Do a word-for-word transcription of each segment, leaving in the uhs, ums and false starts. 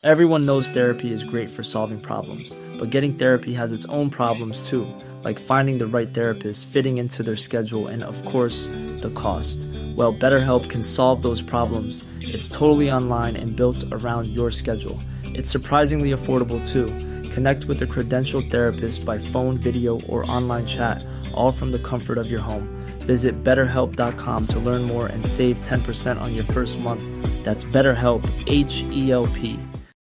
Everyone knows therapy is great for solving problems, but getting therapy has its own problems too, like finding the right therapist, fitting into their schedule, and of course, the cost. Well, BetterHelp can solve those problems. It's totally online and built around your schedule. It's surprisingly affordable too. Connect with a credentialed therapist by phone, video, or online chat, all from the comfort of your home. Visit better help dot com to learn more and save ten percent on your first month. That's BetterHelp, H E L P.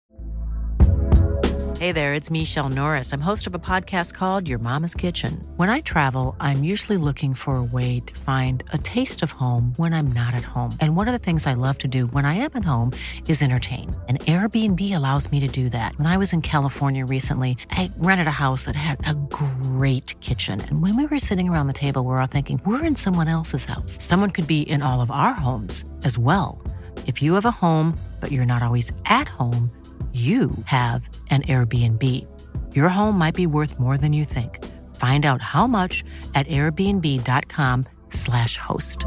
Hey there, it's Michelle Norris. I'm host of a podcast called Your Mama's Kitchen. When I travel, I'm usually looking for a way to find a taste of home when I'm not at home. And one of the things I love to do when I am at home is entertain. And Airbnb allows me to do that. When I was in California recently, I rented a house that had a great kitchen. And when we were sitting around the table, we were all thinking, we're in someone else's house. Someone could be in all of our homes as well. If you have a home, but you're not always at home, you have an Airbnb. Your home might be worth more than you think. Find out how much at airbnb.com slash host.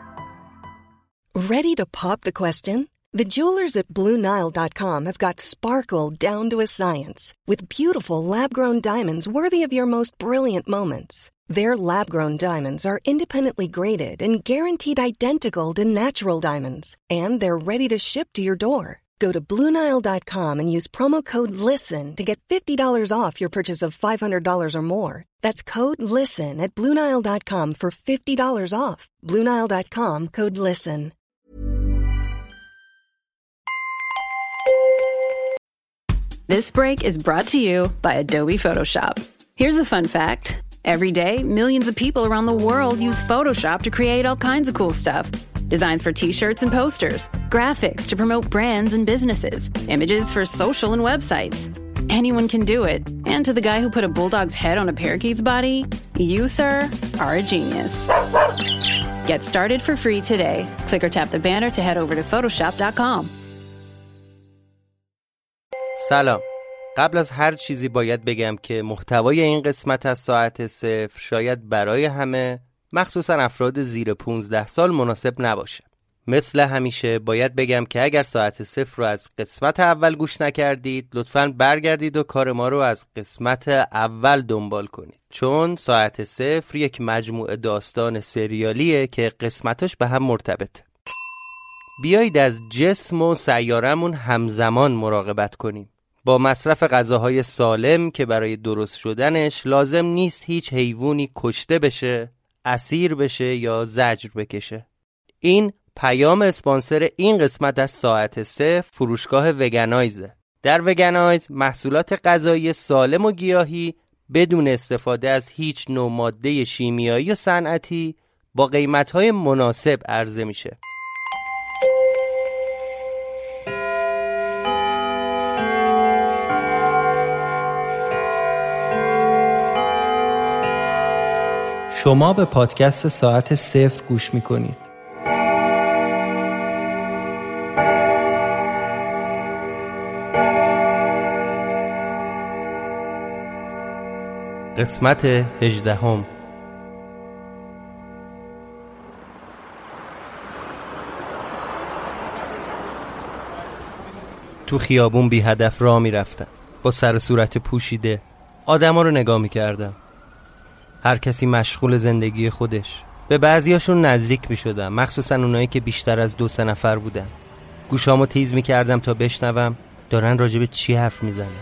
Ready to pop the question? The jewelers at Blue Nile dot com have got sparkle down to a science with beautiful lab-grown diamonds worthy of your most brilliant moments. Their lab-grown diamonds are independently graded and guaranteed identical to natural diamonds, and they're ready to ship to your door. Go to Blue Nile dot com and use promo code LISTEN to get fifty dollars off your purchase of five hundred dollars or more. That's code LISTEN at Blue Nile dot com for fifty dollars off. Blue Nile dot com, code LISTEN. This break is brought to you by Adobe Photoshop. Here's a fun fact. Every day, millions of people around the world use Photoshop to create all kinds of cool stuff. Designs for t-shirts and posters, graphics to promote brands and businesses, images for social and websites. Anyone can do it. And to the guy who put a bulldog's head on a parakeet's body, you, sir, are a genius. Get started for free today. Click or tap the banner to head over to photoshop dot com. سلام. قبل از هر چیزی باید بگم که محتوای این قسمت از ساعت صفر شاید برای همه، مخصوصا افراد زیر پونزده سال مناسب نباشه. مثل همیشه باید بگم که اگر ساعت صفر رو از قسمت اول گوش نکردید، لطفاً برگردید و کار ما رو از قسمت اول دنبال کنید. چون ساعت صفر یک مجموعه داستان سریالیه که قسمتاش به هم مرتبطه. بیایید از جسم و سیارمون همزمان مراقبت کنیم. با مصرف غذاهای سالم که برای درست شدنش لازم نیست هیچ حیوانی کشته بشه، اسیر بشه یا زجر بکشه. این پیام اسپانسر این قسمت از ساعت صفر فروشگاه وگنایزه. در وگنایز محصولات غذایی سالم و گیاهی بدون استفاده از هیچ نوع ماده شیمیایی و صنعتی با قیمت‌های مناسب عرضه میشه. شما به پادکست ساعت صفر گوش میکنید. قسمت هجدهم. تو خیابون بی هدف راه میرفتم با سر و صورت پوشیده. آدما رو نگاه میکردم. هر کسی مشغول زندگی خودش. به بعضیاشون نزدیک می شدم، مخصوصا اونایی که بیشتر از دو سه نفر بودن. گوشامو تیز می کردم تا بشنوم دارن راجب چی حرف می زنن.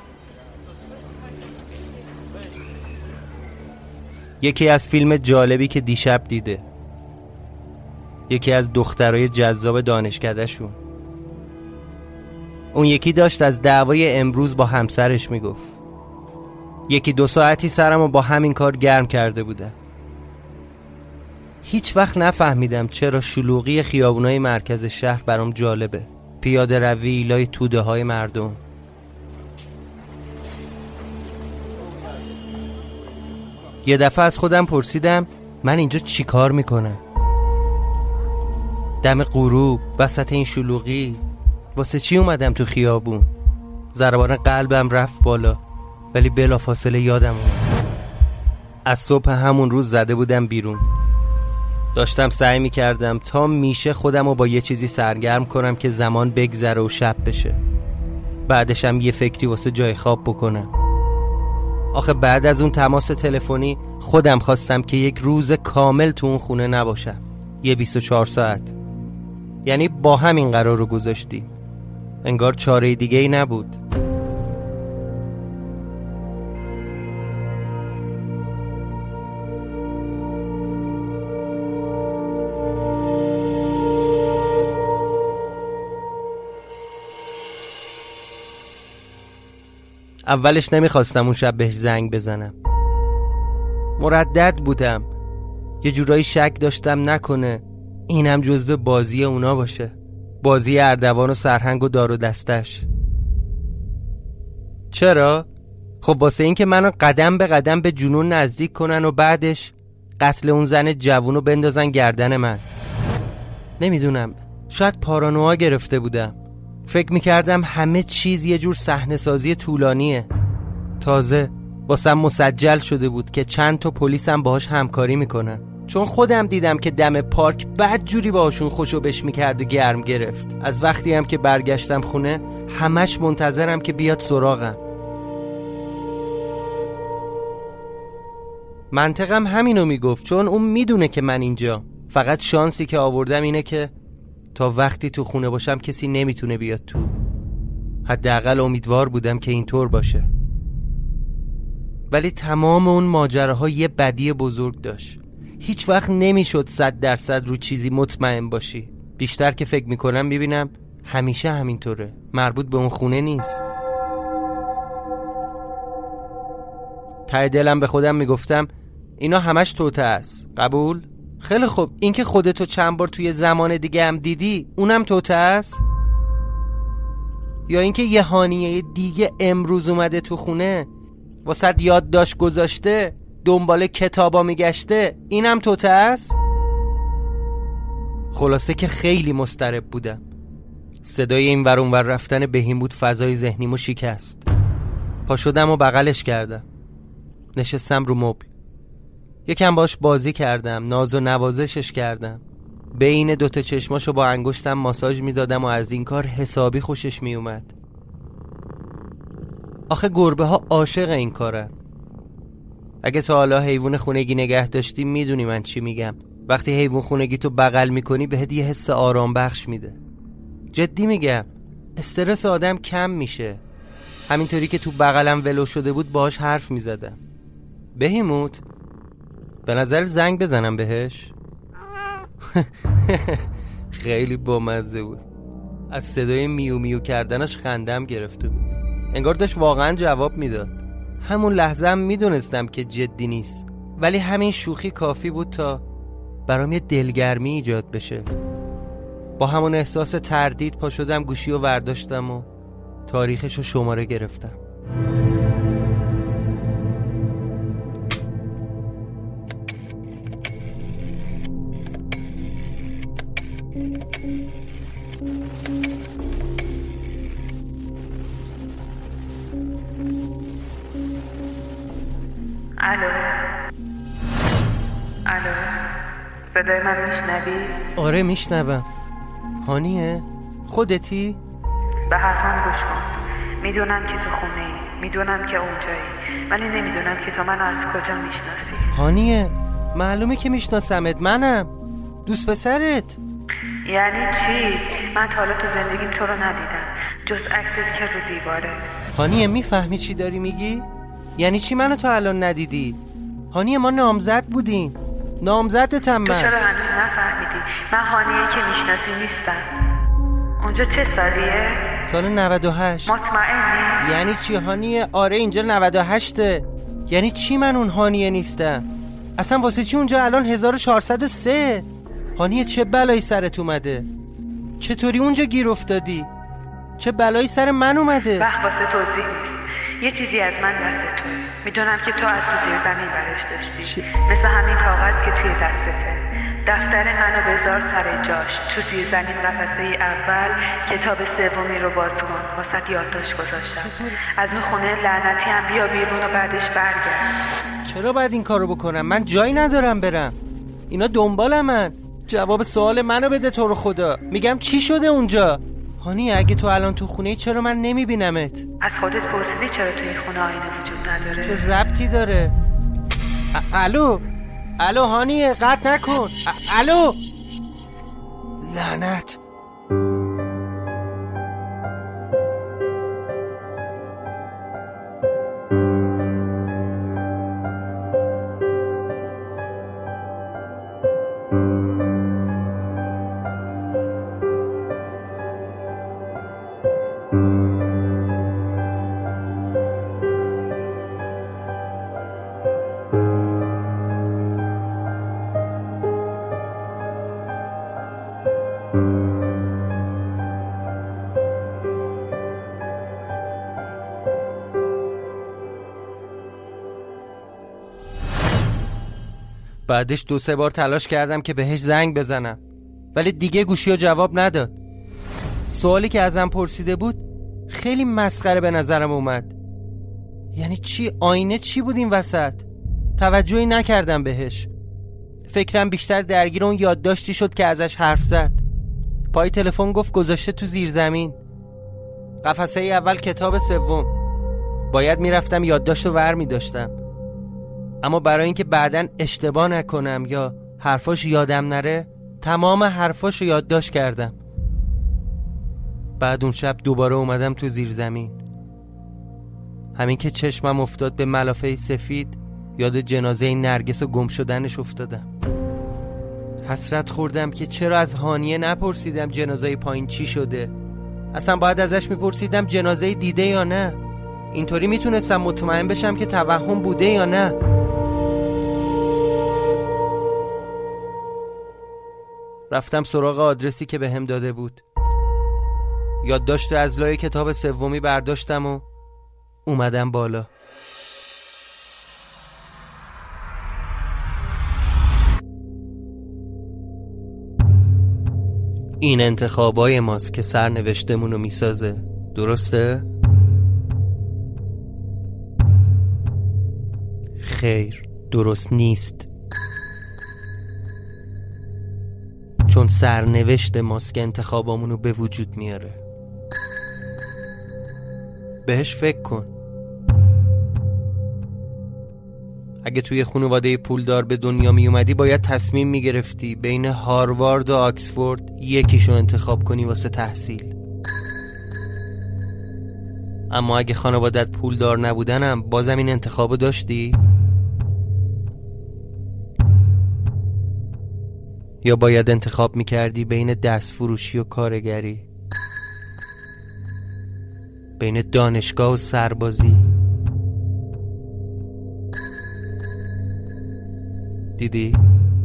یکی از فیلم جالبی که دیشب دیده، یکی از دخترای جذاب دانشکده‌شون. اون یکی داشت از دعوای امروز با همسرش می گفت. یکی دو ساعتی سرمو با همین کار گرم کرده بودن. هیچ وقت نفهمیدم چرا شلوغی خیابونای مرکز شهر برام جالبه. پیاده روی، لای توده های مردم. یه دفعه از خودم پرسیدم من اینجا چی کار میکنم؟ دم غروب وسط این شلوغی واسه چی اومدم تو خیابون؟ ضربان قلبم رفت بالا، ولی بلافاصله یادم اومد از صبح همون روز زده بودم بیرون. داشتم سعی میکردم تا میشه خودم رو با یه چیزی سرگرم کنم که زمان بگذره و شب بشه. بعدشم یه فکری واسه جای خواب بکنم. آخه بعد از اون تماس تلفنی خودم خواستم که یک روز کامل تو اون خونه نباشم، یه بیست و چهار ساعت. یعنی با همین قرار رو گذاشتیم، انگار چاره دیگه ای نبود. اولش نمیخواستم اون شب بهش زنگ بزنم، مردد بودم، یه جورایی شک داشتم نکنه اینم جزو بازی اونا باشه، بازی اردوان و سرهنگ و دار و دستش. چرا؟ خب واسه این که منو قدم به قدم به جنون نزدیک کنن و بعدش قتل اون زن جوونو بندازن گردن من. نمیدونم، شاید پارانویا گرفته بودم، فکر میکردم همه چیز یه جور صحنه سازی طولانیه. تازه واسم مسجل شده بود که چند تا پلیسم باهاش همکاری میکنن، چون خودم دیدم که دم پارک بد جوری باهاشون خوشو بش میکرد و گرم گرفت. از وقتی هم که برگشتم خونه همش منتظرم که بیاد سراغم. منطقم همینو میگفت، چون اون میدونه که من اینجا. فقط شانسی که آوردم اینه که تا وقتی تو خونه باشم کسی نمیتونه بیاد تو. حداقل امیدوار بودم که اینطور باشه. ولی تمام اون ماجراها یه بدی بزرگ داشت. هیچ وقت نمیشد صد درصد رو چیزی مطمئن باشی. بیشتر که فکر میکنم میبینم همیشه همینطوره، مربوط به اون خونه نیست. ته دلم به خودم میگفتم اینا همش توته است. قبول؟ خیلی خوب، این که خودتو چند بار توی زمان دیگه هم دیدی اونم توته است؟ یا اینکه یه هانیه دیگه امروز اومده تو خونه واسه یادداشت گذاشته دنبال کتابا میگشته، اینم توته است؟ خلاصه که خیلی مضطرب بودم. صدای این ور اون ور رفتن بهیموت فضای ذهنیمو شکست. پا شدم و بغلش کردم، نشستم رو مبل، یکم باش بازی کردم، ناز و نوازشش کردم، بین دوتا چشماشو با انگشتم ماساژ میدادم و از این کار حسابی خوشش میومد. آخه گربه ها عاشق این کارن. اگه تا حالا حیوان خونگی نگه داشتی میدونی من چی میگم. وقتی حیوان خونگی تو بغل میکنی بهت یه حس آرام بخش میده. جدی میگم، استرس آدم کم میشه. همینطوری که تو بغلم ولو شده بود باهاش حرف میزدم. بهیموت، به نظر زنگ بزنم بهش؟ خیلی بامزه بود. از صدای میو میو کردنش خندم گرفته بود، انگار داشت واقعا جواب میداد. همون لحظه هم میدونستم که جدی نیست، ولی همین شوخی کافی بود تا برام یه دلگرمی ایجاد بشه. با همون احساس تردید پا شدم گوشی رو ورداشتم و تاریخش رو شماره گرفتم. الو الو، صدای من میشنوی؟ آره میشنوم. هانیه؟ خودتی؟ به حرفم گوش کن. میدونم که تو خونه ای، میدونم که اونجایی، ولی نمیدونم که تو منو از کجا میشناسی. هانیه، معلومه که میشناسمت، منم دوست پسرت. یعنی چی؟ من تا حالا تو زندگیم تو رو ندیدم جز عکست که رو دیواره. هانیه میفهمی چی داری میگی؟ یعنی چی منو تا الان ندیدی؟ هانیه ما نامزد بودیم، نامزدتم من. تو چرا هنوز نفهمیدی؟ من هانیه که میشناسی نیستم. اونجا چه سالیه؟ سال نود و هشت. مطمئنی؟ یعنی چی هانیه؟ آره اینجا نود و هشته. یعنی چی من اون هانیه نیستم؟ اصلا واسه چی اونجا الان هزار و چهارصد و سه؟ هانیه چه بلایی سرت اومده؟ چطوری اونجا گیر افتادی؟ چه بلایی سر من اومده؟ وقت واسه توضیح نیست. یه چیزی از من دست توه. میدونم که تو از تو زیر زمین برش داشتی چی؟ مثل همین کاغذ که توی دستته. دفتر منو بذار سر جاش. تو زیر زمین قفسه اول کتاب سومی رو باز کن. واسه یادداشت گذاشتم. از اون خونه لعنتی هم بیا بیرون و بعدش برگرد. چرا باید این کارو بکنم؟ من جایی ندارم برم. اینا دنبال من. جواب سوال منو بده تو رو خدا. میگم چی شده اونجا؟ هانی اگه تو الان تو خونه چرا من نمیبینمت؟ از خودت پرسیدی چرا توی خونه آینه وجود نداره؟ چه ربطی داره؟ الو الو هانی قطع نکن. الو لعنت. بعدش دو سه بار تلاش کردم که بهش زنگ بزنم ولی دیگه گوشیو جواب نداد. سوالی که ازم پرسیده بود خیلی مسخره به نظرم اومد. یعنی چی؟ آینه چی بود این وسط؟ توجهی نکردم بهش. فکرم بیشتر درگیر اون یادداشتی شد که ازش حرف زد. پای تلفن گفت گذاشته تو زیر زمین. قفسه ای اول کتاب سوم. باید میرفتم یادداشتو ور میداشتم، اما برای اینکه بعداً اشتباه نکنم یا حرفاش یادم نره تمام حرفاشو یادداشت کردم. بعد اون شب دوباره اومدم تو زیر زمین. همین که چشمم افتاد به ملافه سفید یاد جنازه نرگس و گم شدنش افتادم. حسرت خوردم که چرا از هانیه نپرسیدم جنازه پایین چی شده. اصلا باید ازش میپرسیدم جنازه دیده یا نه. اینطوری میتونستم مطمئن بشم که توهم بوده یا نه. رفتم سراغ آدرسی که بهم داده بود. یادداشت از لای کتاب سومی برداشتم و اومدم بالا. این انتخابای ماست که سرنوشتمونو میسازه، درسته؟ خیر، درست نیست. چون سرنوشت ماست که انتخابامونو به وجود میاره. بهش فکر کن. اگه توی خانواده پولدار به دنیا می اومدی باید تصمیم می گرفتی بین هاروارد و آکسفورد یکیشو انتخاب کنی واسه تحصیل. اما اگه خانوادت پولدار نبودنم بازم این انتخابو داشتی؟ یا باید انتخاب می کردی بین دست فروشی و کارگری، بین دانشگاه و سربازی؟ دیدی؟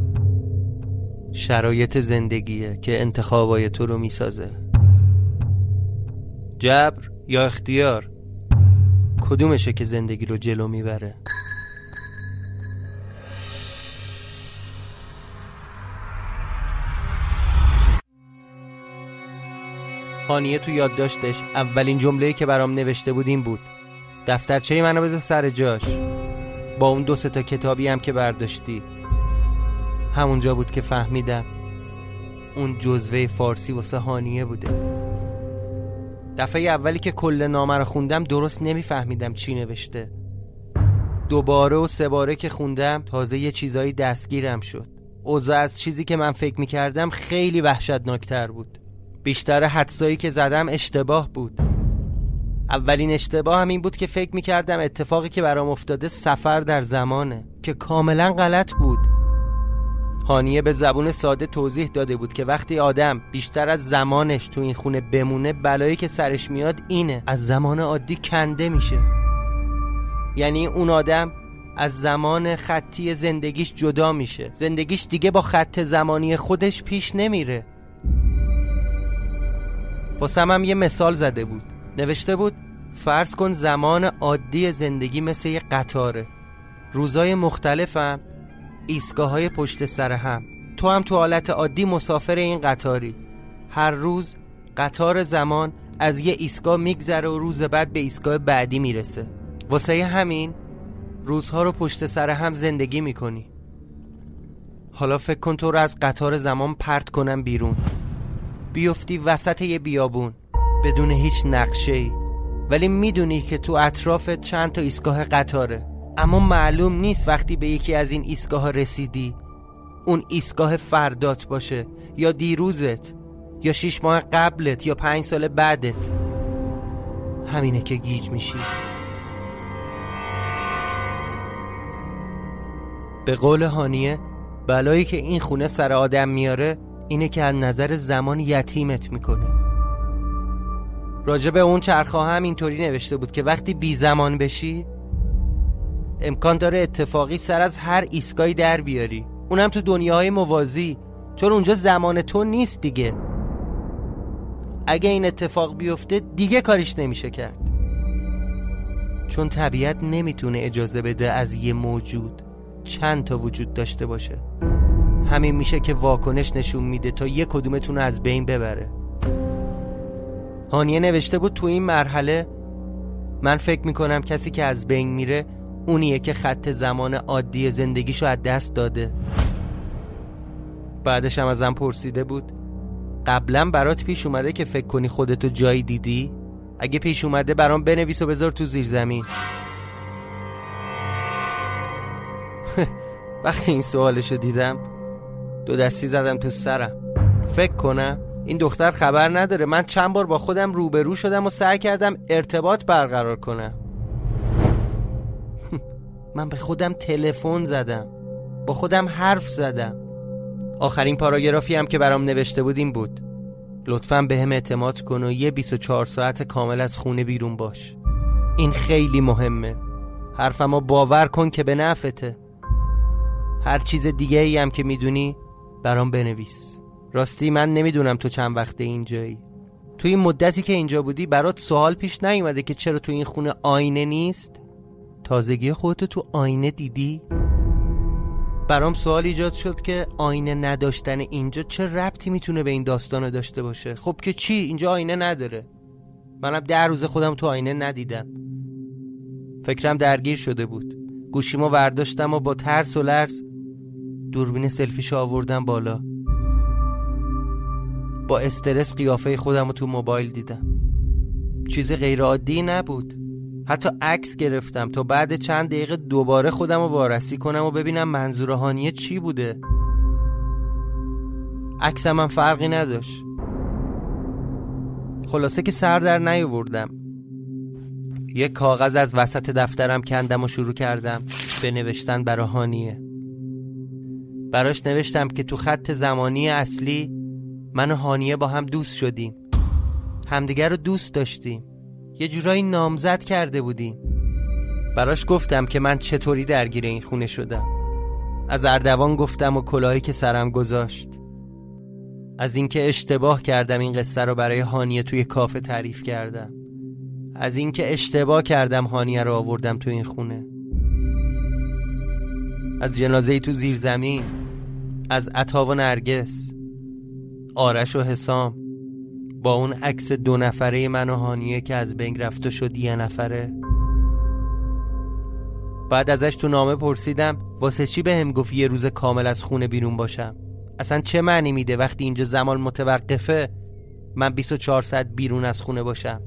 شرایط زندگیه که انتخابای تو رو میسازه. جبر یا اختیار، کدومشه که زندگی رو جلو میبره؟ هانیه تو یادداشتش اولین جمله‌ای که برام نوشته بود این بود: دفترچه منو بذار سر جاش. با اون دو سه تا کتابی هم که برداشتی. همونجا بود که فهمیدم اون جزوه فارسی واسه هانیه بوده. دفعه اولی که کل نامه رو خوندم درست نمیفهمیدم چی نوشته. دوباره و سه باره که خوندم تازه یه چیزایی دستگیرم شد. اوضاع از چیزی که من فکر میکردم خیلی وحشتناکتر بود. بیشتر حدسایی که زدم اشتباه بود. اولین اشتباه هم این بود که فکر میکردم اتفاقی که برام افتاده سفر در زمانه، که کاملا غلط بود. هانیه به زبون ساده توضیح داده بود که وقتی آدم بیشتر از زمانش تو این خونه بمونه بلایی که سرش میاد اینه: از زمان عادی کنده میشه. یعنی اون آدم از زمان خطی زندگیش جدا میشه. زندگیش دیگه با خط زمانی خودش پیش نمیره. واسم هم یه مثال زده بود. نوشته بود فرض کن زمان عادی زندگی مثل یه قطاره. روزای مختلفم، ایستگاه‌های پشت سر هم. تو هم تو حالت عادی مسافر این قطاری. هر روز قطار زمان از یه ایستگاه میگذره و روز بعد به ایستگاه بعدی میرسه. واسه همین روزها رو پشت سر هم زندگی میکنی. حالا فکر کن تو رو از قطار زمان پرت کنم بیرون، بیفتی وسط یه بیابون. بدون هیچ نقشه‌ای، ولی میدونی که تو اطرافت چند تا ایستگاه قطاره، اما معلوم نیست وقتی به یکی از این ایستگاه رسیدی اون ایستگاه فردات باشه یا دیروزت یا شیش ماه قبلت یا پنج سال بعدت. همینه که گیج میشی. به قول هانیه، بلایی که این خونه سر آدم میاره اینه که از نظر زمان یتیمت میکنه. راجع به اون چرخ‌ها هم اینطوری نوشته بود که وقتی بی زمان بشی امکان داره اتفاقی سر از هر ایستگاهی در بیاری، اونم تو دنیاهای موازی، چون اونجا زمان تو نیست دیگه. اگه این اتفاق بیفته دیگه کاریش نمیشه کرد، چون طبیعت نمیتونه اجازه بده از یه موجود چند تا وجود داشته باشه. همین میشه که واکنش نشون میده تا یک کدومتون از بین ببره. هانیه نوشته بود تو این مرحله من فکر میکنم کسی که از بین میره اونیه که خط زمان عادی زندگیشو از دست داده. بعدش هم ازم پرسیده بود قبلا برات پیش اومده که فکر کنی خودتو جایی دیدی؟ اگه پیش اومده برام بنویس و بذار تو زیر زمین. وقتی این سوالشو دیدم دو دستی زدم تو سرم. فکر کنم این دختر خبر نداره من چند بار با خودم روبرو شدم و سعی کردم ارتباط برقرار کنم. من به خودم تلفن زدم، با خودم حرف زدم. آخرین پاراگرافی هم که برام نوشته بود این بود: لطفاً به هم اعتماد کن و یه بیست و چهار ساعت کامل از خونه بیرون باش. این خیلی مهمه. حرفمو باور کن که به نفعته. هر چیز دیگه ای هم که میدونی برام بنویس. راستی من نمیدونم تو چند وقته اینجایی. تو این مدتی که اینجا بودی برات سوال پیش نیومده که چرا تو این خونه آینه نیست؟ تازگی خودتو تو آینه دیدی؟ برام سوال ایجاد شد که آینه نداشتن اینجا چه ربطی میتونه به این داستان داشته باشه؟ خب که چی؟ اینجا آینه نداره. منم ده روز خودم تو آینه ندیدم. فکرم درگیر شده بود. گوشیمو ورداشتم و با ترس و لرز دوربین سلفیشو آوردم بالا. با استرس قیافه خودم رو تو موبایل دیدم. چیز غیر عادی نبود. حتی عکس گرفتم تا بعد چند دقیقه دوباره خودم رو وارسی کنم و ببینم منظور هانیه چی بوده. عکسم هم فرقی نداشت. خلاصه که سر در نیاوردم. یک کاغذ از وسط دفترم کندم و شروع کردم به نوشتن برای هانیه. براش نوشتم که تو خط زمانی اصلی من و هانیه با هم دوست شدیم، همدیگر رو دوست داشتیم، یه جورایی نامزد کرده بودیم. براش گفتم که من چطوری درگیر این خونه شدم. از اردوان گفتم و کلاهی که سرم گذاشت. از اینکه اشتباه کردم این قصه رو برای هانیه توی کافه تعریف کردم. از اینکه اشتباه کردم هانیه رو آوردم تو این خونه. از جنازه‌ای تو زیر زمین، از عطا و نرگس، آرش و حسام، با اون عکس دو نفره من و هانیه که از بین رفت و شد یه نفره. بعد ازش تو نامه پرسیدم واسه چی به هم گفت یه روز کامل از خونه بیرون باشم؟ اصلا چه معنی میده وقتی اینجا زمان متوقفه من بیست و چهار ساعت بیرون از خونه باشم؟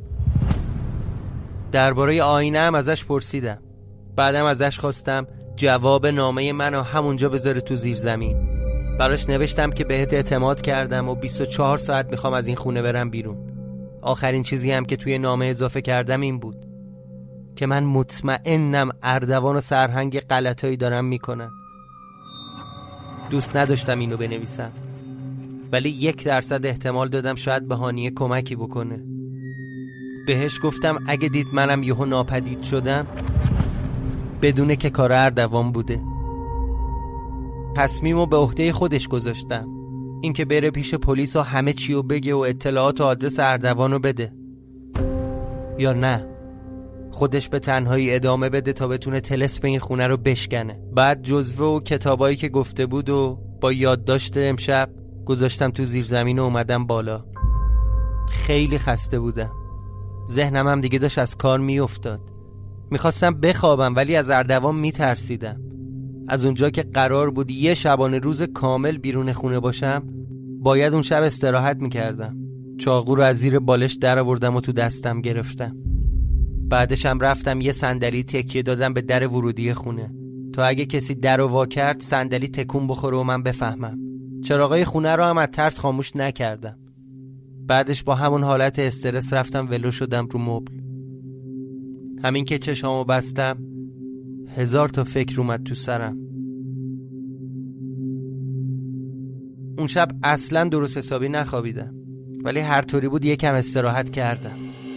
درباره آینه هم ازش پرسیدم. بعدم ازش خواستم جواب نامه منو همونجا بذاره تو زیر زمین. براش نوشتم که بهت اعتماد کردم و بیست و چهار ساعت میخوام از این خونه برم بیرون. آخرین چیزی هم که توی نامه اضافه کردم این بود که من مطمئنم اردوان و سرهنگ غلطایی دارم میکنن. دوست نداشتم اینو بنویسم، ولی یک درصد احتمال دادم شاید به هانیه کمکی بکنه. بهش گفتم اگه دید منم یهو ناپدید شدم بدونه که کار اردوان بوده. تصمیمو به عهده خودش گذاشتم، اینکه بره پیش پلیس و همه چیو بگه و اطلاعات و آدرس اردوانو بده، یا نه خودش به تنهایی ادامه بده تا بتونه طلسم این خونه رو بشکنه. بعد جزوه و کتابایی که گفته بود و با یادداشت امشب گذاشتم تو زیر زمین و اومدم بالا. خیلی خسته بودم، ذهنم هم دیگه داشت از کار میافتاد. میخواستم بخوابم ولی از اردوان میترسیدم. از اونجا که قرار بود یه شبانه روز کامل بیرون خونه باشم باید اون شب استراحت میکردم، چاقو رو از زیر بالش در آوردم و تو دستم گرفتم. بعدش هم رفتم یه صندلی تکیه دادم به در ورودی خونه تا اگه کسی در رو وا کرد صندلی تکون بخوره و من بفهمم. چراغای خونه رو هم از ترس خاموش نکردم. بعدش با همون حالت استرس رفتم ولو شدم رو مبل. همین که چشامو بستم هزار تا فکر اومد تو سرم. اون شب اصلا درست حسابی نخوابیدم، ولی هر طوری بود یکم استراحت کردم.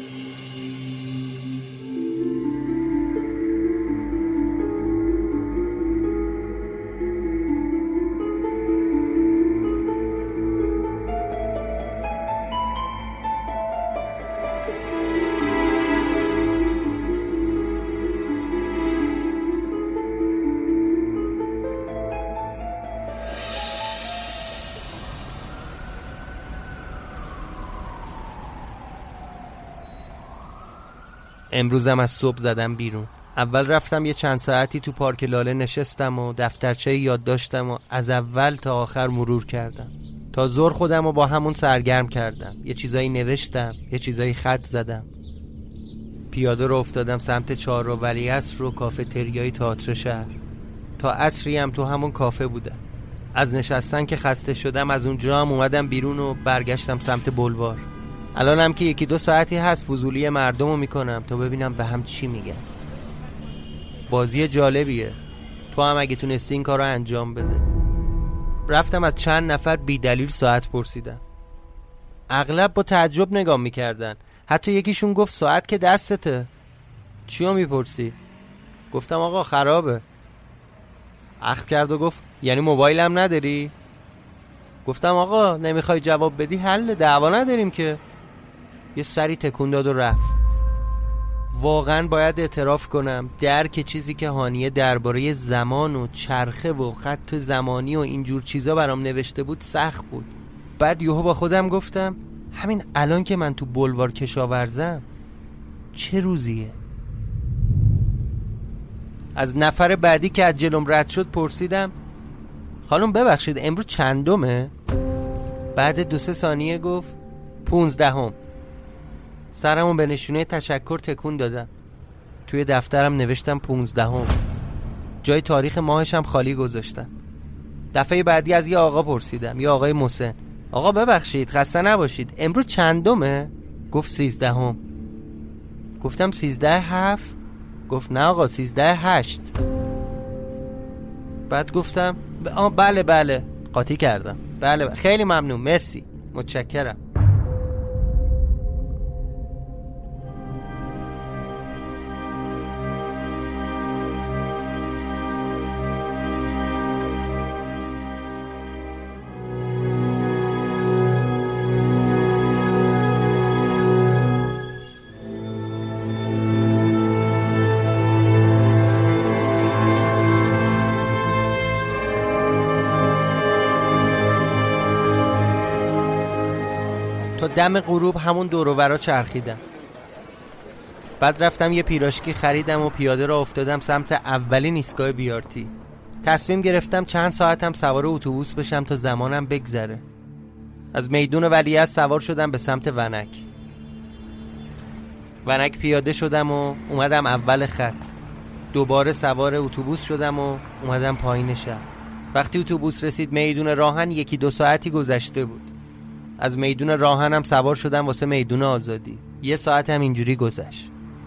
امروزم از صبح زدم بیرون. اول رفتم یه چند ساعتی تو پارک لاله نشستم و دفترچه یادداشتم و از اول تا آخر مرور کردم. تا ظهر خودم رو با همون سرگرم کردم. یه چیزایی نوشتم، یه چیزایی خط زدم. پیاده رو افتادم سمت چهارراه ولیعصر و کافتریای تئاتر شهر. تا عصری هم تو همون کافه بودم. از نشستن که خسته شدم از اونجا هم اومدم بیرون و برگشتم سمت بلوار. الانم که یکی دو ساعتی هست فضولی مردم رو میکنم تا ببینم به هم چی میگن. بازی جالبیه، تو هم اگه تونستی این کار رو انجام بده. رفتم از چند نفر بی دلیل ساعت پرسیدم. اغلب با تعجب نگاه میکردن. حتی یکیشون گفت ساعت که دستته، چیو میپرسی؟ گفتم آقا خرابه. اخم کرد و گفت یعنی موبایلم نداری؟ گفتم آقا نمیخوای جواب بدی حل، دعوا نداریم که. یه سری تکون داد و رفت. واقعا باید اعتراف کنم درک چیزی که هانیه درباره زمان و چرخه و خط زمانی و اینجور چیزا برام نوشته بود سخت بود. بعد یهو با خودم گفتم همین الان که من تو بلوار کشاورزم چه روزیه؟ از نفر بعدی که از جلوم رد شد پرسیدم خانم ببخشید امروز چندمه؟ بعد دو سه ثانیه گفت پونزدهم. سرمو به نشونه تشکر تکون دادم. توی دفترم نوشتم پونزدهم. جای تاریخ ماهشم خالی گذاشتم. دفعه بعدی از یه آقا پرسیدم، یه آقای مسن. آقا ببخشید خسته نباشید امروز چندمه؟ گفت سیزدهم. گفتم سیزده هفت؟ گفت نه آقا سیزده هشت. بعد گفتم آه بله بله قاطی کردم. بله, بله خیلی ممنون مرسی متشکرم. تا دم غروب همون دور و برا چرخیدم. بعد رفتم یه پیراشکی خریدم و پیاده را افتادم سمت اولین ایستگاه بیارتی. تصمیم گرفتم چند ساعتم سوار اتوبوس بشم تا زمانم بگذره. از میدون ولیعصر سوار شدم به سمت ونک. ونک پیاده شدم و اومدم اول خط. دوباره سوار اتوبوس شدم و اومدم پایین شهر. وقتی اتوبوس رسید میدون راهن یکی دو ساعتی گذشته بود. از میدون راهنم سوار شدم واسه میدون آزادی. یه ساعت هم اینجوری گذشت.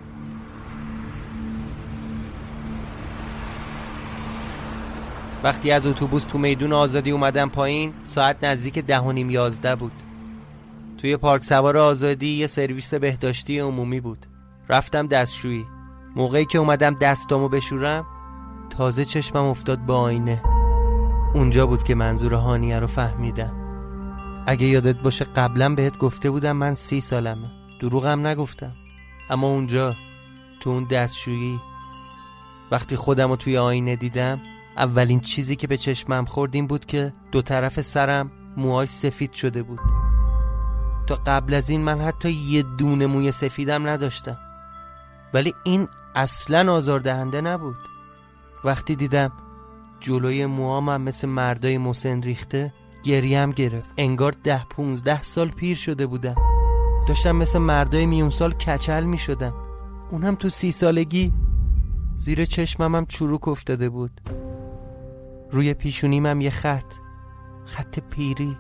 وقتی از اتوبوس تو میدون آزادی اومدم پایین ساعت نزدیک ده و نیم یازده بود. توی پارک سوار آزادی یه سرویس بهداشتی عمومی بود. رفتم دستشویی. موقعی که اومدم دستامو بشورم تازه چشمم افتاد به آینه. اونجا بود که منظور هانیه رو فهمیدم. اگه یادت باشه قبلا بهت گفته بودم من سی سالمه. دروغم نگفتم. اما اونجا تو اون دستشویی وقتی خودم رو توی آینه دیدم اولین چیزی که به چشمم خورد این بود که دو طرف سرم موهای سفید شده بود. تا قبل از این من حتی یه دونه موی سفیدم نداشتم. ولی این اصلاً آزاردهنده نبود. وقتی دیدم جلوی موهام هم مثل مردای مسن ریخته گریم گرفت. انگار ده پونزده سال پیر شده بودم. داشتم مثل مردای میون سال کچل می شدم. اونم تو سی سالگی. زیر چشمم هم چروک افتاده بود. روی پیشونیم هم یه خط، خط پیری.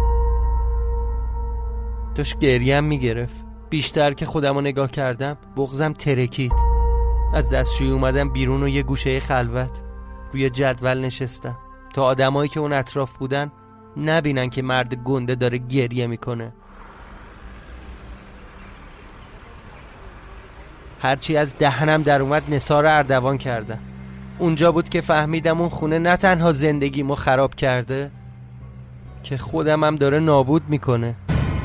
داشت گریم می گرفت. بیشتر که خودم رو نگاه کردم بغضم ترکید. از دستشویی اومدم بیرون و یه گوشه خلوت روی جدول نشستم تا آدمایی که اون اطراف بودن نبینن که مرد گنده داره گریه میکنه. هرچی از دهنم در اومد نثار اردوان کردم. اونجا بود که فهمیدم اون خونه نه تنها زندگیمو خراب کرده که خودم هم داره نابود میکنه.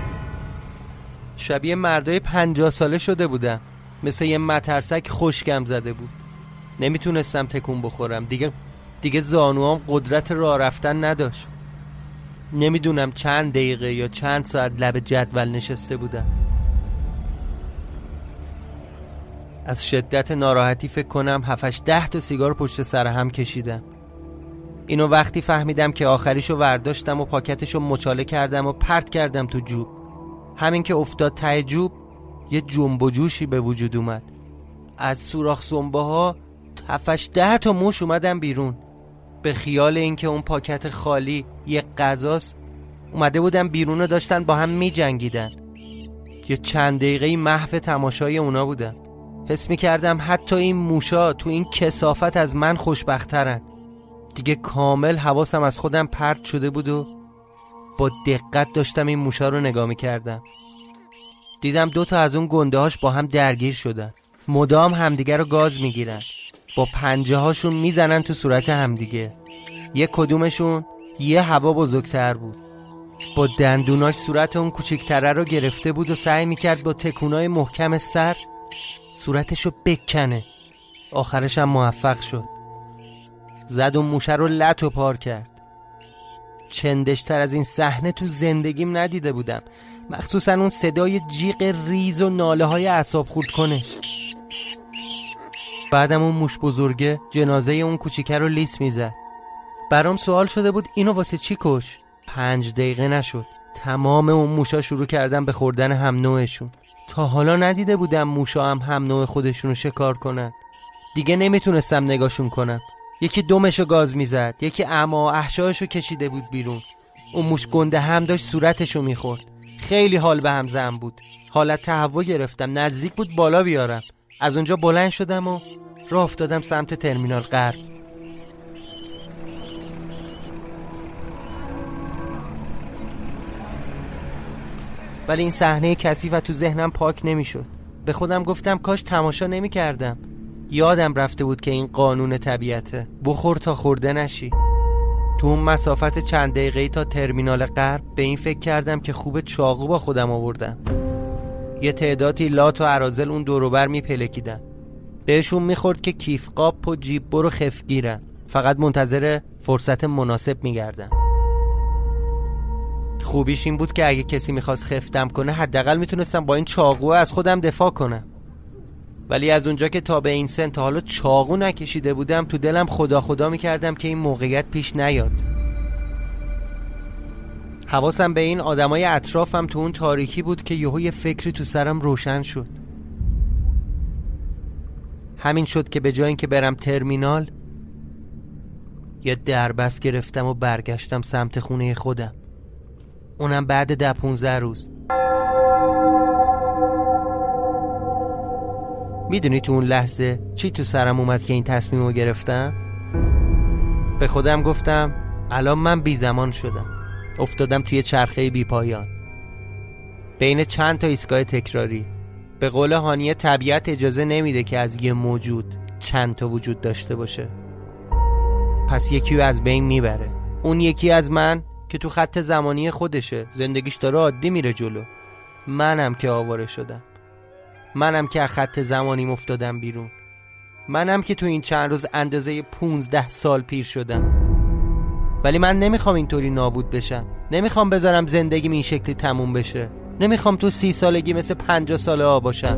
شبیه مردای پنجاه ساله شده بودم. مثل یه مترسک خشکم زده بود. نمیتونستم تکون بخورم. دیگه دیگه زانوام قدرت راه رفتن نداشت. نمیدونم چند دقیقه یا چند ساعت لب جدول نشسته بودم. از شدت ناراحتی فکر کنم هفتش ده تا سیگار پشت سر هم کشیدم. اینو وقتی فهمیدم که آخریشو ورداشتم و پاکتشو مچاله کردم و پرت کردم تو جوب. همین که افتاد ته جوب یه جنب و جوشی به وجود اومد. از سوراخ سنبه ها هفتش ده تا موش اومدن بیرون. به خیال اینکه اون پاکت خالی یه غذاست اومده بودن بیرون و داشتن با هم می جنگیدن. یه چند دقیقه محو تماشای اونا بودم. حس می کردم حتی این موشا تو این کثافت از من خوشبخترن. دیگه کامل حواسم از خودم پرت شده بود و با دقت داشتم این موشا رو نگاه می کردم. دیدم دو تا از اون گنده هاش با هم درگیر شدن. مدام همدیگه رو گاز می گیرن. با پنجه هاشون می زنن تو صورت همدیگه. یه کدومشون یه هوا بزرگتر بود. با دندوناش صورت اون کوچیکتره رو گرفته بود و سعی می کرد با تکونای محکم سر صورتشو بکنه. آخرش هم موفق شد. زد و موشه رو لط و پار کرد. چندشتر از این صحنه تو زندگیم ندیده بودم. مخصوصا اون صدای جیغ ریز و ناله های اعصاب خورد کنش. بعدم اون موش بزرگه جنازه اون کوچیکه رو لیس میزد. برام سوال شده بود اینو واسه چی کش؟ پنج دقیقه نشد تمام اون موشا شروع کردن به خوردن هم نوعشون. تا حالا ندیده بودم موشا هم هم نوع خودشونو شکار کنن. دیگه نمیتونستم نگاشون کنم. یکی دمشو گاز میزد، یکی اما احشایشو کشیده بود بیرون. اون موش گنده هم داشت صورتشو میخورد. خیلی حال به هم زن بود. حالت تهوع گرفتم. نزدیک بود بالا بیارم. از اونجا بلند شدم و راه افتادم سمت ترمینال غرب. ولی این صحنه کثیف تو ذهنم پاک نمیشد. به خودم گفتم کاش تماشا نمی کردم. یادم رفته بود که این قانون طبیعته. بخور تا خورده نشی. تو اون مسافت چند دقیقه‌ای تا ترمینال غرب به این فکر کردم که خوب چاقو با خودم آوردم. یه تعدادی لات و اراذل اون دور و بر میپلکیدن. بهشون میخورد که کیف قاپ و جیب برو خفگیرن. فقط منتظر فرصت مناسب میگردن. خوبیش این بود که اگه کسی میخواست خفتم کنه حداقل میتونستم با این چاقو از خودم دفاع کنم. ولی از اونجا که تا به این سن تا حالا چاقو نکشیده بودم تو دلم خدا خدا میکردم که این موقعیت پیش نیاد. حواسم به این آدمای اطرافم تو اون تاریکی بود که یهو یه فکری تو سرم روشن شد. همین شد که به جای اینکه برم ترمینال یه دربست گرفتم و برگشتم سمت خونه خودم. اونم بعد ده پونزده روز. میدونی تو اون لحظه چی تو سرم اومد که این تصمیم رو گرفتم؟ به خودم گفتم الان من بی زمان شدم. افتادم توی چرخه بی پایان بین چند تا ایستگاه تکراری. به قول هانیه طبیعت اجازه نمیده که از یه موجود چند تا وجود داشته باشه. پس یکی رو از بین میبره. اون یکی از من که تو خط زمانی خودشه، زندگیش داره عادی میره جلو. منم که آواره شدم. منم که از خط زمانیم افتادم بیرون. منم که تو این چند روز اندازه پونزده سال پیر شدم. ولی من نمیخوام اینطوری نابود بشم. نمیخوام بذارم زندگیم این شکلی تموم بشه. نمیخوام تو سی سالگی مثل پنجاه ساله ها باشم.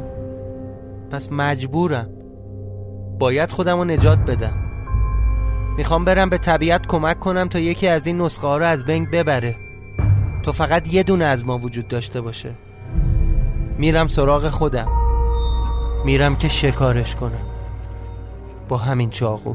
پس مجبورم. باید خودم رو نجات بدم. میخوام برم به طبیعت کمک کنم تا یکی از این نسخه ها رو از بین ببره، تو فقط یه دونه از ما وجود داشته باشه. میرم سراغ خودم، میرم که شکارش کنم با همین چاقو.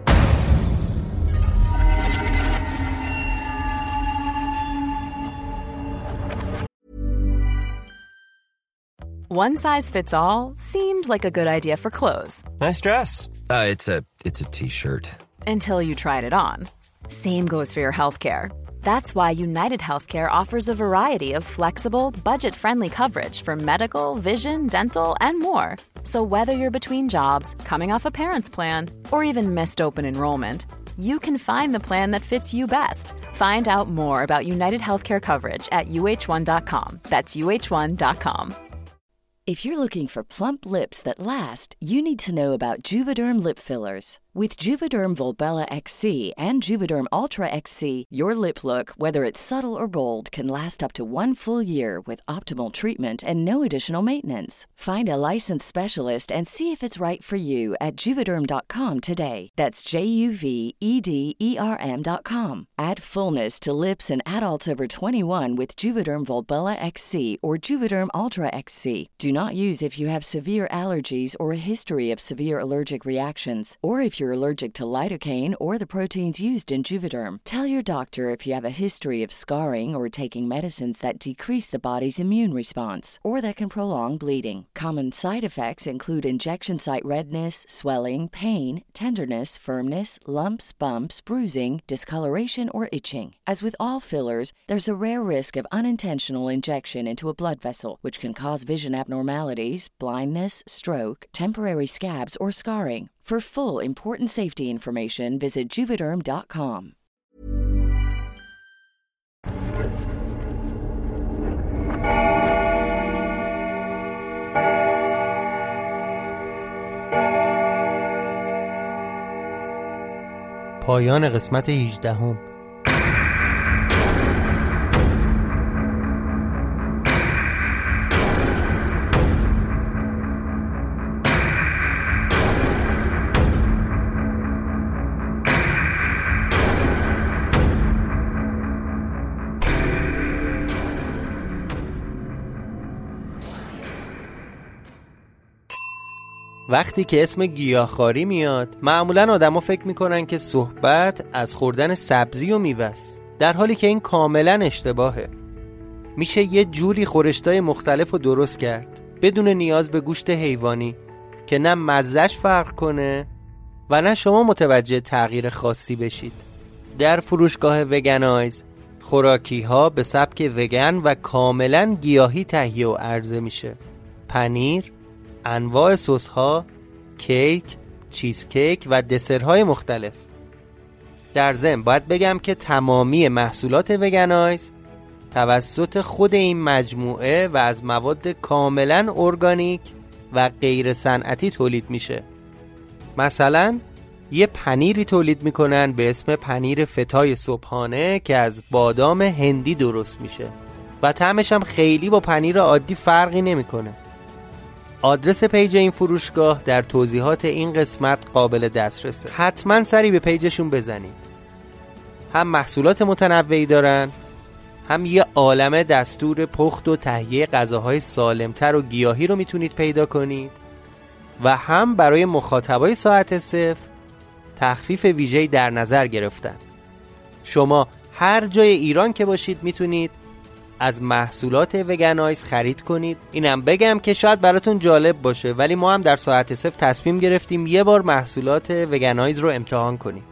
One size fits all seemed like a good idea for clothes. Nice dress. Uh, it's a it's a t-shirt. Until you tried it on. Same goes for your healthcare. That's why United Healthcare offers a variety of flexible, budget-friendly coverage for medical, vision, dental, and more. So whether you're between jobs, coming off a parent's plan, or even missed open enrollment, you can find the plan that fits you best. Find out more about United Healthcare coverage at U H one dot com. That's U H one dot com. If you're looking for plump lips that last, you need to know about Juvederm lip fillers. With Juvederm Volbella X C and Juvederm Ultra X C, your lip look, whether it's subtle or bold, can last up to one full year with optimal treatment and no additional maintenance. Find a licensed specialist and see if it's right for you at Juvederm dot com today. That's J U V E D E R M dot com. Add fullness to lips in adults over twenty-one with Juvederm Volbella X C or Juvederm Ultra X C. Do not use if you have severe allergies or a history of severe allergic reactions, or if you're allergic to lidocaine or the proteins used in Juvederm. Tell your doctor if you have a history of scarring or taking medicines that decrease the body's immune response or that can prolong bleeding. Common side effects include injection site redness, swelling, pain, tenderness, firmness, lumps, bumps, bruising, discoloration, or itching. As with all fillers, there's a rare risk of unintentional injection into a blood vessel, which can cause vision abnormalities, blindness, stroke, temporary scabs, or scarring. For full important safety information, visit Juvederm dot com. پایان قسمت هجدهم. وقتی که اسم گیاهخواری میاد، معمولاً آدما فکر میکنن که صحبت از خوردن سبزی و میوه‌ست، در حالی که این کاملاً اشتباهه. میشه یه جوری خورشتای مختلف رو درست کرد بدون نیاز به گوشت حیوانی که نه مزه‌اش فرق کنه و نه شما متوجه تغییر خاصی بشید. در فروشگاه وگنایز خوراکی ها به سبک وگن و کاملاً گیاهی تهیه و عرضه میشه. پنیر، انواع سس ها، کیک، چیز کیک و دسرهای مختلف. در ضمن باید بگم که تمامی محصولات وگنایز توسط خود این مجموعه و از مواد کاملا ارگانیک و غیر صنعتی تولید میشه. مثلا یه پنیری تولید میکنن به اسم پنیر فتای صبحانه که از بادام هندی درست میشه و طعمش هم خیلی با پنیر عادی فرقی نمیکنه. آدرس پیج این فروشگاه در توضیحات این قسمت قابل دسترسه. حتما سری به پیجشون بزنید. هم محصولات متنوعی دارن، هم یه عالمه دستور پخت و تهیه غذاهای سالمتر و گیاهی رو میتونید پیدا کنید و هم برای مخاطبای ساعت صفر تخفیف ویژه‌ای در نظر گرفتن. شما هر جای ایران که باشید میتونید از محصولات وگنایز خرید کنید. اینم بگم که شاید براتون جالب باشه، ولی ما هم در ساعت صفر تصمیم گرفتیم یه بار محصولات وگنایز رو امتحان کنیم.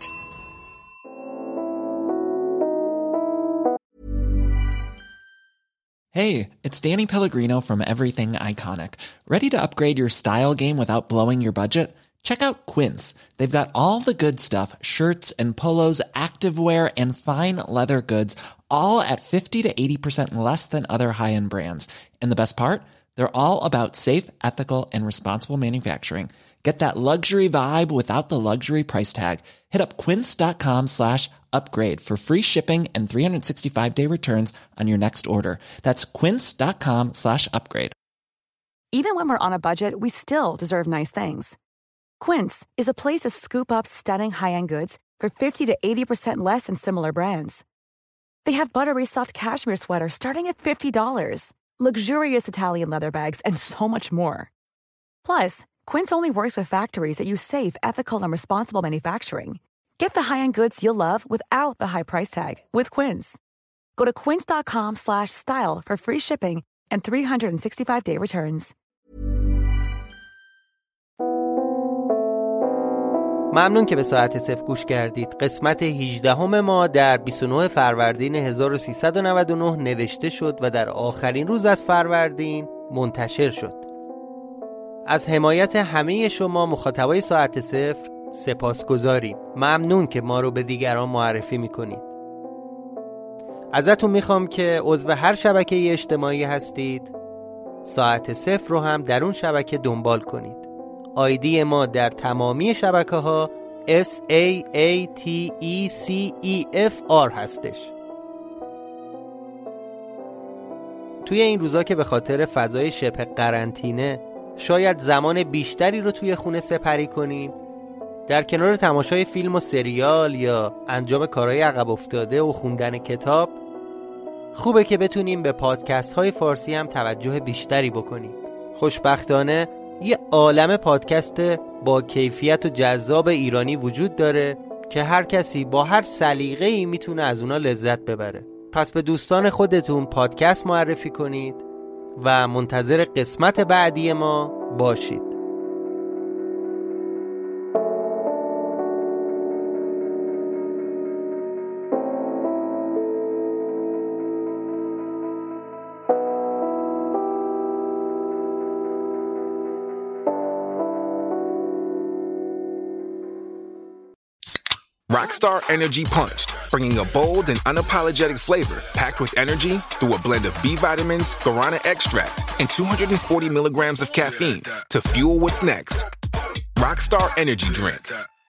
Hey, it's Danny Pellegrino from Everything Iconic. Ready to upgrade your style game without blowing your budget? Check out Quince. They've got all the good stuff, shirts and polos, activewear, and fine leather goods, all at fifty to eighty percent less than other high-end brands. And the best part? They're all about safe, ethical, and responsible manufacturing. Get that luxury vibe without the luxury price tag. Hit up quince.com slash upgrade for free shipping and three sixty-five day returns on your next order. That's quince.com slash upgrade. Even when we're on a budget, we still deserve nice things. Quince is a place to scoop up stunning high-end goods for fifty to eighty percent less than similar brands. They have buttery soft cashmere sweaters starting at fifty dollars, luxurious Italian leather bags, and so much more. Plus, Quince only works with factories that use safe, ethical, and responsible manufacturing. Get the high-end goods you'll love without the high price tag with Quince. Go to quince.com slash style for free shipping and three sixty-five day returns. ممنون که به ساعت صفر گوش کردید. قسمت هجدهم ما در بیست و نه فروردین هزار و سیصد و نود و نه نوشته شد و در آخرین روز از فروردین منتشر شد. از حمایت همه شما مخاطبای ساعت صفر سپاسگزاریم. ممنون که ما رو به دیگران معرفی میکنید. ازتون میخوام که عضو هر شبکه اجتماعی هستید ساعت صفر رو هم در اون شبکه دنبال کنید. آیدی ما در تمامی شبکه ها اس ای ای تی ای سی ای اف آر هستش. توی این روزا که به خاطر فضای شبه قرنطینه شاید زمان بیشتری رو توی خونه سپری کنیم، در کنار تماشای فیلم و سریال یا انجام کارهای عقب افتاده و خوندن کتاب، خوبه که بتونیم به پادکست های فارسی هم توجه بیشتری بکنیم. خوشبختانه یه عالمه پادکست با کیفیت و جذاب ایرانی وجود داره که هر کسی با هر سلیقه‌ای میتونه از اونا لذت ببره. پس به دوستان خودتون پادکست معرفی کنید و منتظر قسمت بعدی ما باشید. Rockstar Energy Punched, bringing a bold and unapologetic flavor packed with energy through a blend of B vitamins, guarana extract, and two hundred forty milligrams of caffeine to fuel what's next. Rockstar Energy Drink.